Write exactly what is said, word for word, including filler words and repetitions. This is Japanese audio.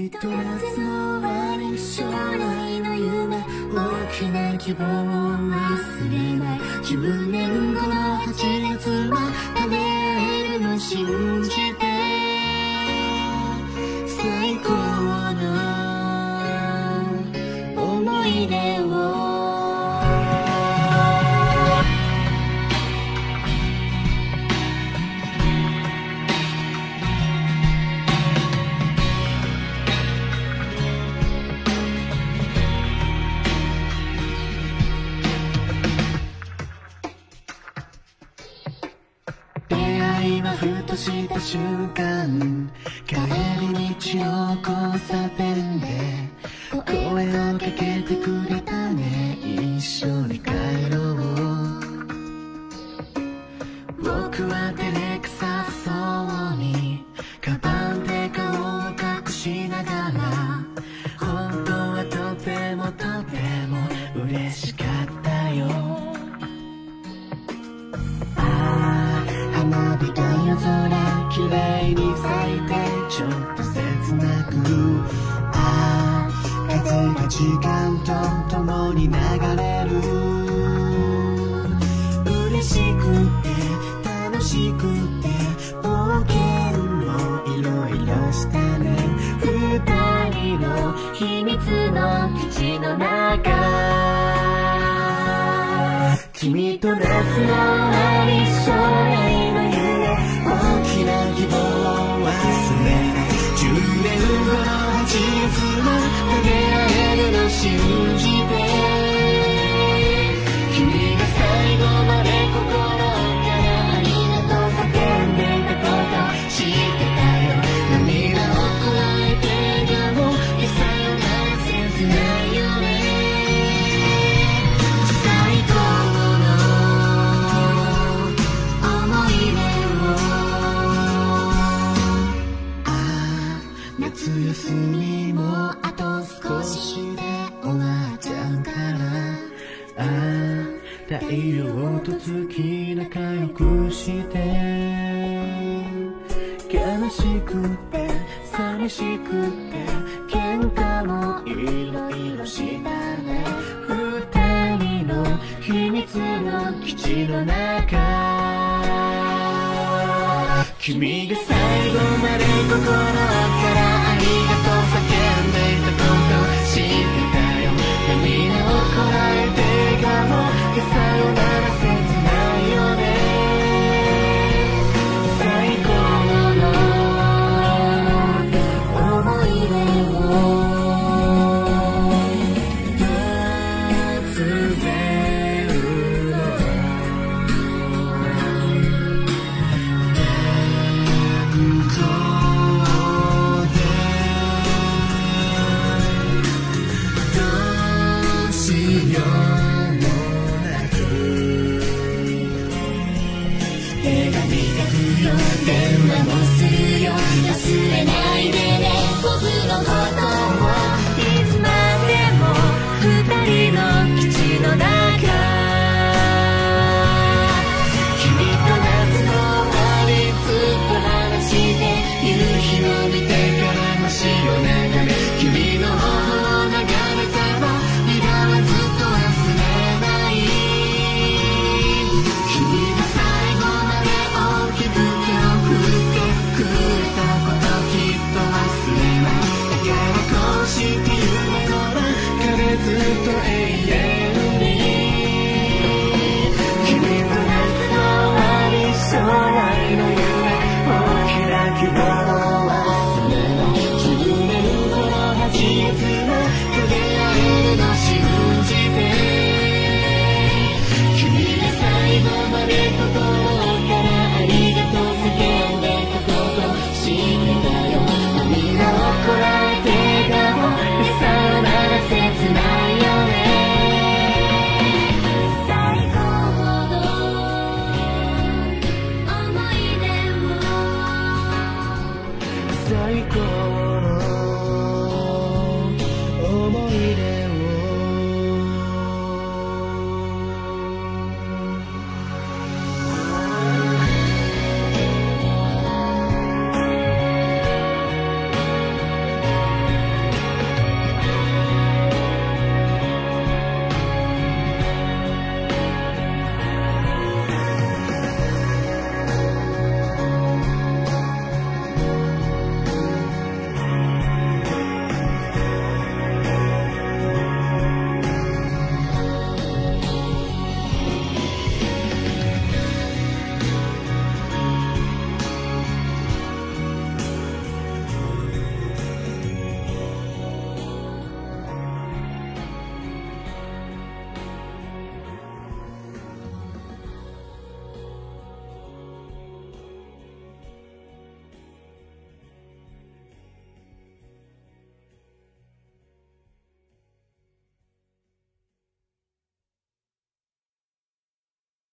君と夏の終わり、将来の夢、大きな希望を忘れない。じゅうねんごのはちがつは食べれるの信じて、最高の思い出を今ふとした瞬間、帰り道の交差点で声をかけてくれたね。一緒に帰ろう。僕は照れくさそうにカバンで顔を隠しながら、本当はとてもとても嬉しかったよ。花火が夜空きれいに咲いてちょっと切なく、ああ風が時間と共に流れる。嬉しくて楽しくて冒険もいろいろしたね。二人の秘密の基地の中、君と夏の終わり、将来の夢、大きな希望を忘れない。じゅうねんごのはちがつも出会えるの信じて、君が最後まで心からありがとう叫んでいたこと知ってたよ。涙をこらえてでもさよなら切ないよね。最高夏休みもあと少しで終わっちゃうから、ああ太陽と月仲良くして、悲しくて寂しくて喧嘩もいろいろしたね。二人の秘密の基地の中、君が最後まで心からありがとう叫んでいたこと知ってたよ。涙をこらえて笑顔でさよなら切ないよね。最高の思い出を突然電話もするよ、忘れないでね、僕のことを。いつまでも二人の基地の中、君と夏の終わりずっと話して、夕日を見てから星を眺め、君の頬を眺めたら涙はずっと忘れない。君が最後まで大きく手を振ってくれたこときっと忘れない。だからこうして夢の中でずっと永遠